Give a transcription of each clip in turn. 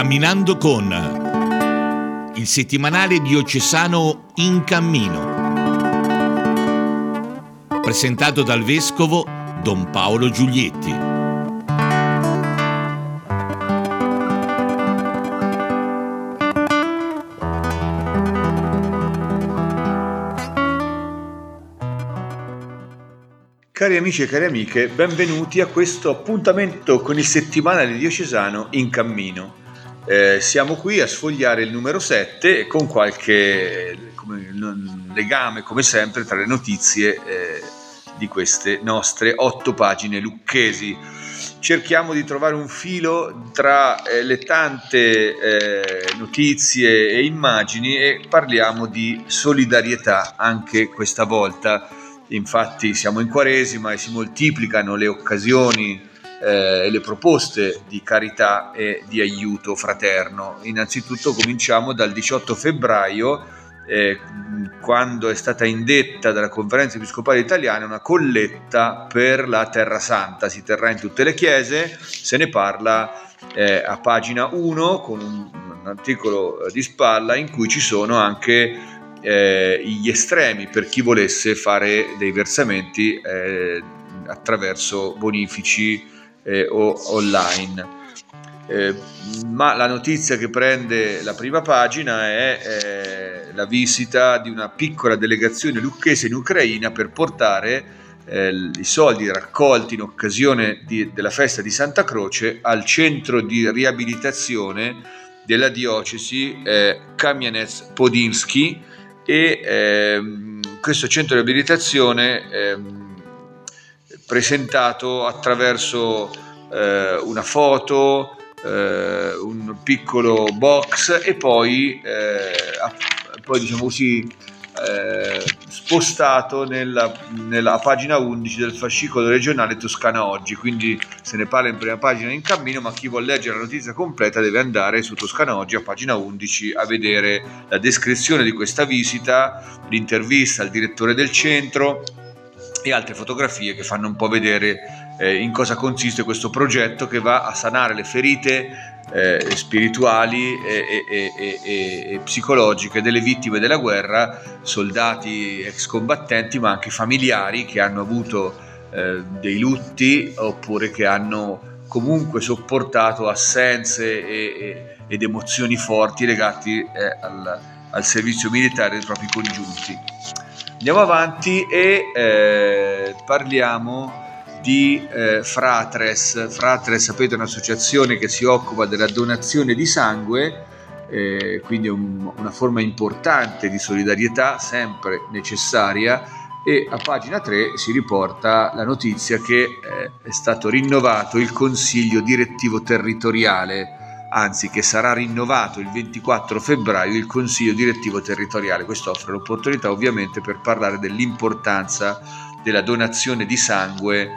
Camminando con il settimanale diocesano In Cammino, presentato dal vescovo Don Paolo Giulietti. Cari amici e cari amiche, benvenuti a questo appuntamento con il settimanale diocesano In Cammino. Siamo qui a sfogliare il numero 7 con qualche legame, come sempre, tra le notizie di queste nostre 8 pagine lucchesi. Cerchiamo di trovare un filo tra le tante notizie e immagini e parliamo di solidarietà anche questa volta. Infatti siamo in Quaresima e si moltiplicano le occasioni e le proposte di carità e di aiuto fraterno. Innanzitutto cominciamo dal 18 febbraio, quando è stata indetta dalla Conferenza Episcopale Italiana una colletta per la Terra Santa. Si terrà in tutte le chiese, se ne parla a pagina 1 con un articolo di spalla in cui ci sono anche gli estremi per chi volesse fare dei versamenti attraverso bonifici o online. Ma la notizia che prende la prima pagina è la visita di una piccola delegazione lucchese in Ucraina per portare i soldi raccolti in occasione della festa di Santa Croce al centro di riabilitazione della diocesi Kamianets-Podilsky. E questo centro di riabilitazione presentato attraverso una foto, un piccolo box e poi diciamo così spostato nella pagina 11 del fascicolo regionale Toscana Oggi. Quindi se ne parla in prima pagina In Cammino, ma chi vuol leggere la notizia completa deve andare su Toscana Oggi a pagina 11 a vedere la descrizione di questa visita, l'intervista al direttore del centro e altre fotografie che fanno un po' vedere in cosa consiste questo progetto che va a sanare le ferite spirituali e psicologiche delle vittime della guerra, soldati ex combattenti, ma anche familiari che hanno avuto dei lutti oppure che hanno comunque sopportato assenze ed emozioni forti legati al servizio militare dei propri congiunti. Andiamo avanti e parliamo di Fratres. Fratres, sapete, è un'associazione che si occupa della donazione di sangue, quindi è una forma importante di solidarietà, sempre necessaria, e a pagina 3 si riporta la notizia che è stato rinnovato il Consiglio Direttivo Territoriale, anzi che sarà rinnovato il 24 febbraio il Consiglio Direttivo Territoriale. Questo offre l'opportunità ovviamente per parlare dell'importanza della donazione di sangue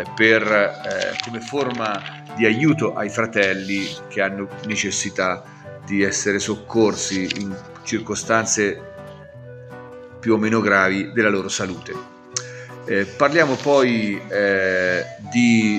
come forma di aiuto ai fratelli che hanno necessità di essere soccorsi in circostanze più o meno gravi della loro salute. Parliamo poi di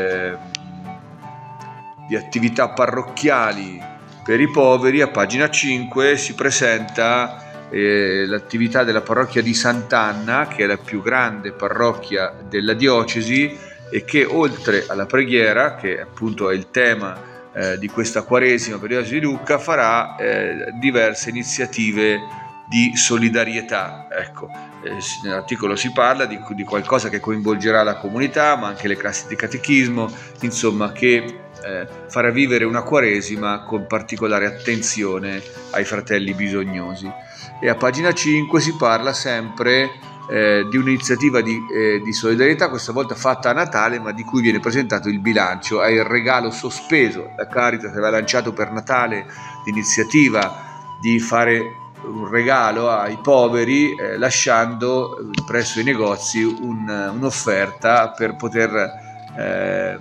attività parrocchiali per i poveri. A pagina 5 si presenta l'attività della parrocchia di Sant'Anna, che è la più grande parrocchia della diocesi e che, oltre alla preghiera, che appunto è il tema di questa Quaresima per la diocesi di Lucca, farà diverse iniziative di solidarietà. Ecco, nell'articolo si parla di qualcosa che coinvolgerà la comunità, ma anche le classi di catechismo, insomma, che farà vivere una Quaresima con particolare attenzione ai fratelli bisognosi. E a pagina 5 si parla sempre di un'iniziativa di solidarietà, questa volta fatta a Natale, ma di cui viene presentato il bilancio. È il regalo sospeso. La Caritas aveva lanciato per Natale l'iniziativa di fare un regalo ai poveri, lasciando presso i negozi un'offerta per poter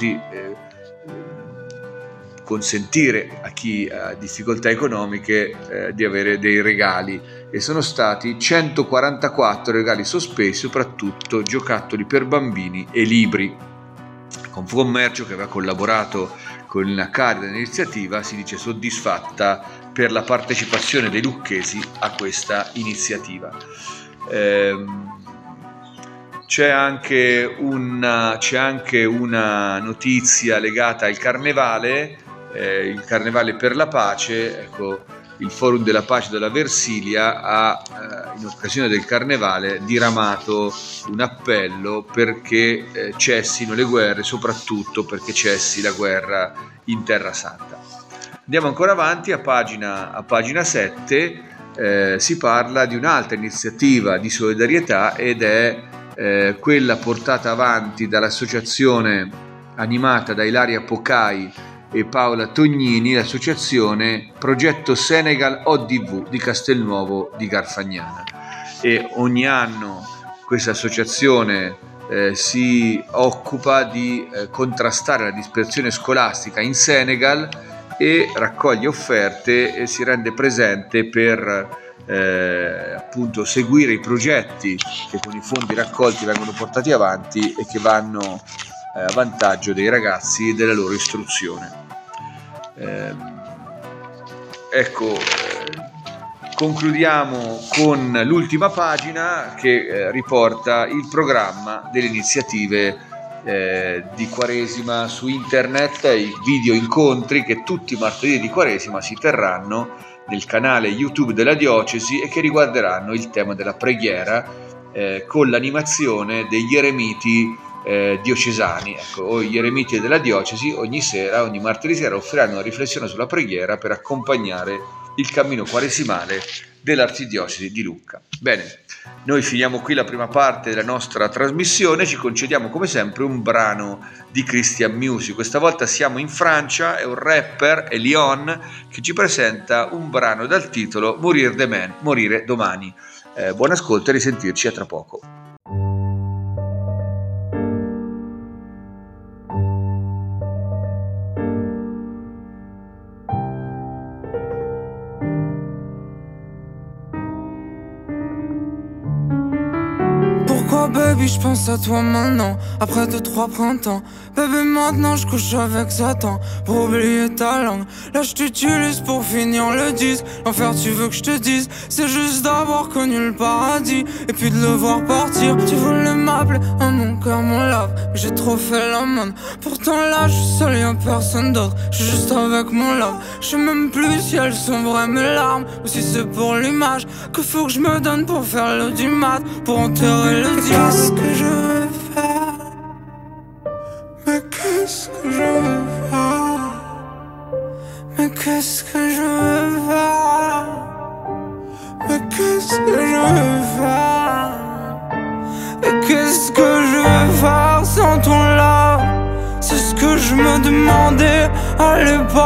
consentire a chi ha difficoltà economiche di avere dei regali, e sono stati 144 regali sospesi, soprattutto giocattoli per bambini e libri. Confcommercio, che aveva collaborato con la carica dell'iniziativa si dice soddisfatta per la partecipazione dei lucchesi a questa iniziativa. C'è anche una notizia legata al carnevale, il carnevale per la pace. Ecco, il Forum della Pace della Versilia ha in occasione del carnevale diramato un appello perché cessino le guerre, soprattutto perché cessi la guerra in Terra Santa. Andiamo ancora avanti, a pagina 7 si parla di un'altra iniziativa di solidarietà ed è quella portata avanti dall'associazione animata da Ilaria Pocai e Paola Tognini, l'associazione Progetto Senegal ODV di Castelnuovo di Garfagnana. E ogni anno questa associazione si occupa di contrastare la dispersione scolastica in Senegal e raccoglie offerte e si rende presente per appunto seguire i progetti che con i fondi raccolti vengono portati avanti e che vanno a vantaggio dei ragazzi e della loro istruzione. Concludiamo con l'ultima pagina che riporta il programma delle iniziative di Quaresima su internet, i video incontri che tutti i martedì di Quaresima si terranno nel canale YouTube della diocesi e che riguarderanno il tema della preghiera con l'animazione degli eremiti diocesani. Ecco, gli eremiti della diocesi ogni martedì sera offriranno una riflessione sulla preghiera per accompagnare il cammino quaresimale dell'arcidiocesi di Lucca. Bene, noi finiamo qui la prima parte della nostra trasmissione, ci concediamo come sempre un brano di Christian Music. Questa volta siamo in Francia, è un rapper, Elion, che ci presenta un brano dal titolo Morire domani. Buon ascolto e risentirci a tra poco. Baby, je pense à toi maintenant, après 2-3 printemps. Baby, maintenant je couche avec Satan pour oublier ta langue. Là je t'utilise pour finir le disque. L'enfer tu veux que je te dise, c'est juste d'avoir connu le paradis et puis de le voir partir. Tu voulais m'appeler à mon cœur, mon lave, mais j'ai trop fait la manne. Pourtant là je suis seul, y'a personne d'autre, je suis juste avec mon love. Je sais même plus si elles sont vraies mes larmes ou si c'est pour l'image que faut que je me donne pour faire l'audimat, pour enterrer le diable. Qu'est-ce que je veux faire? Mais qu'est-ce que je veux faire? Mais qu'est-ce que je veux faire? Mais qu'est-ce que je veux faire? Et qu'est-ce que je veux faire sans ton love? C'est ce que je me demandais à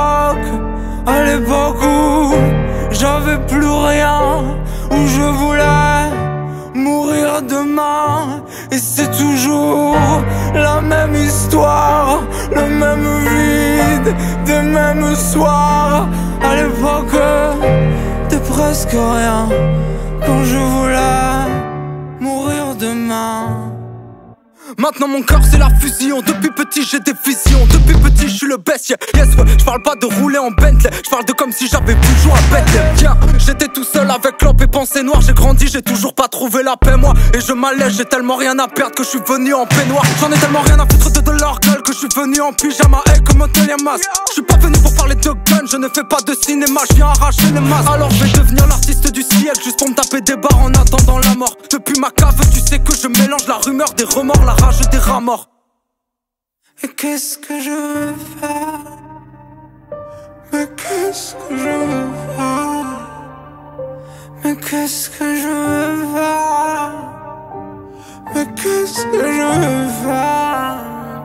l'époque où j'avais plus rien, où je voulais mourir demain. Et c'est toujours la même histoire, le même vide des mêmes soirs. À l'époque de presque rien, quand je voulais mourir demain. Maintenant mon cœur c'est la fusion. Depuis petit j'ai des visions. Depuis petit je suis le best, yeah. Yes, ouais. Je parle pas de rouler en Bentley, je parle de comme si j'avais pu jouer à Bethlehem. Tiens, j'étais tout seul avec lampe et pensée noire. J'ai grandi, j'ai toujours pas trouvé la paix moi. Et je m'allège, j'ai tellement rien à perdre que je suis venu en peignoir. J'en ai tellement rien à foutre de leur gueule que je suis venu en pyjama. Hey, comme un télémas. Je suis pas venu pour parler de gun, je ne fais pas de cinéma, je viens arracher les masques. Alors je vais devenir l'artiste du siècle, juste pour me taper des barres en attendant la mort. Depuis ma cave, tu sais que je mélange la rumeur des remords, la rage des rats morts. Et qu'est-ce que je veux faire? Mais qu'est-ce que je veux faire? Mais qu'est-ce que je veux faire? Mais qu'est-ce que je veux faire?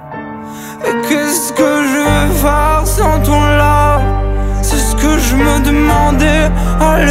Et qu'est-ce que je veux faire sans ton love? C'est ce que je me demandais à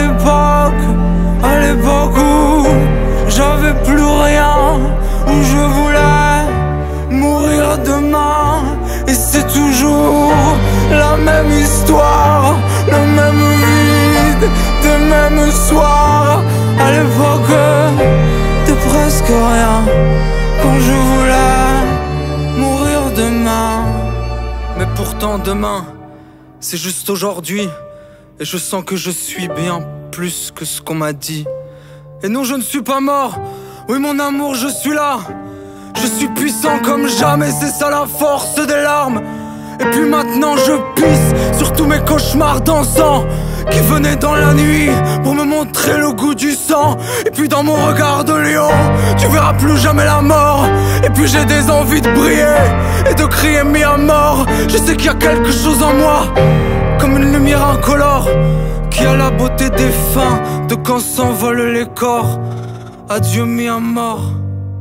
l'époque où j'avais plus rien, où je voulais mourir demain. Et c'est toujours la même histoire, le même vide des mêmes soirs. À l'époque de presque rien, quand je voulais mourir demain. Mais pourtant pourtant demain, c'est juste aujourd'hui. Et je sens que je suis bien plus que ce qu'on m'a dit. Et non, je ne suis pas mort. Oui, mon amour, je suis là. Je suis puissant comme jamais, c'est ça la force des larmes. Et puis maintenant je pisse sur tous mes cauchemars dansants qui venaient dans la nuit pour me montrer le goût du sang. Et puis dans mon regard de lion, tu verras plus jamais la mort. Et puis j'ai des envies de briller et de crier mis à mort. Je sais qu'il y a quelque chose en moi, comme une lumière incolore, qui a la beauté des fins de quand s'envolent les corps. Adieu mis à mort.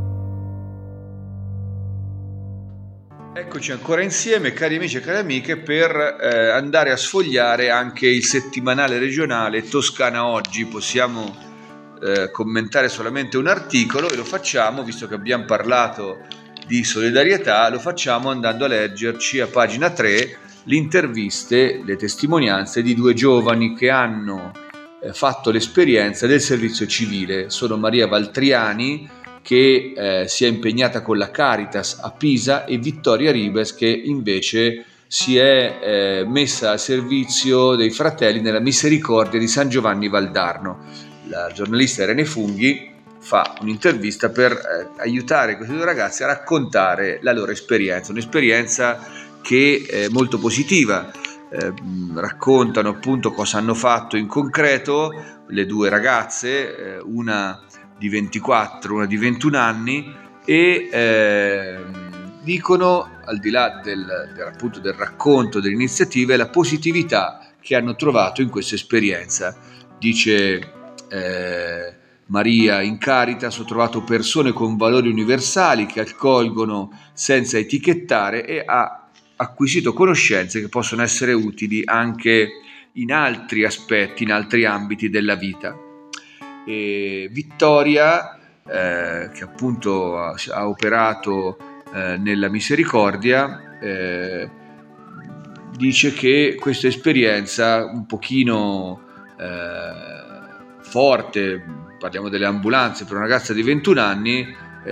Eccoci ancora insieme, cari amici e cari amiche, per andare a sfogliare anche il settimanale regionale Toscana Oggi. Possiamo commentare solamente un articolo e lo facciamo, visto che abbiamo parlato di solidarietà, lo facciamo andando a leggerci a pagina 3 le interviste, le testimonianze di due giovani che hanno fatto l'esperienza del servizio civile. Sono Maria Valtriani, che si è impegnata con la Caritas a Pisa, e Vittoria Ribes, che invece si è messa al servizio dei fratelli nella Misericordia di San Giovanni Valdarno. La giornalista Irene Funghi fa un'intervista per aiutare questi due ragazzi a raccontare la loro esperienza, un'esperienza che è molto positiva. Raccontano appunto cosa hanno fatto in concreto le due ragazze, una di 24, una di 21 anni, e dicono, al di là appunto del racconto delle iniziative, la positività che hanno trovato in questa esperienza. Dice Maria: in Caritas ho trovato persone con valori universali che accolgono senza etichettare, e ha acquisito conoscenze che possono essere utili anche in altri aspetti, in altri ambiti della vita. E Vittoria, che appunto ha operato nella Misericordia, dice che questa esperienza un pochino forte, parliamo delle ambulanze, per una ragazza di 21 anni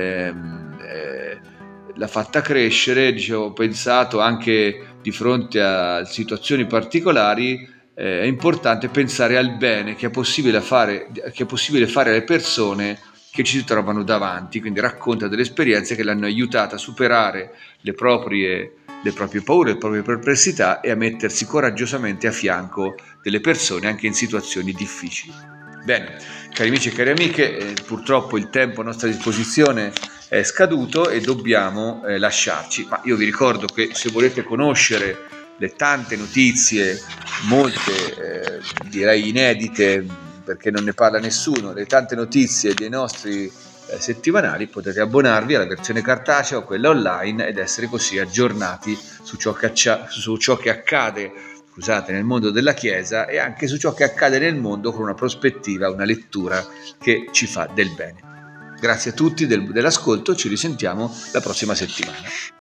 l'ha fatta crescere. Dicevo, ho pensato anche di fronte a situazioni particolari, è importante pensare al bene che è possibile fare alle persone che ci si trovano davanti. Quindi racconta delle esperienze che l'hanno aiutata a superare le proprie paure, le proprie perplessità, e a mettersi coraggiosamente a fianco delle persone anche in situazioni difficili. Bene, cari amici e cari amiche, purtroppo il tempo a nostra disposizione è scaduto e dobbiamo lasciarci, ma io vi ricordo che se volete conoscere le tante notizie, molte direi inedite perché non ne parla nessuno, le tante notizie dei nostri settimanali, potete abbonarvi alla versione cartacea o quella online ed essere così aggiornati su ciò che accade, nel mondo della Chiesa, e anche su ciò che accade nel mondo con una prospettiva, una lettura che ci fa del bene. Grazie a tutti dell'ascolto, ci risentiamo la prossima settimana.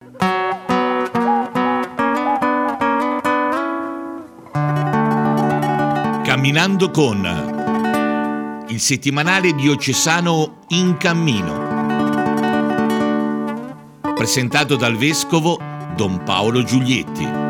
Camminando con il settimanale diocesano In Cammino, presentato dal vescovo Don Paolo Giulietti.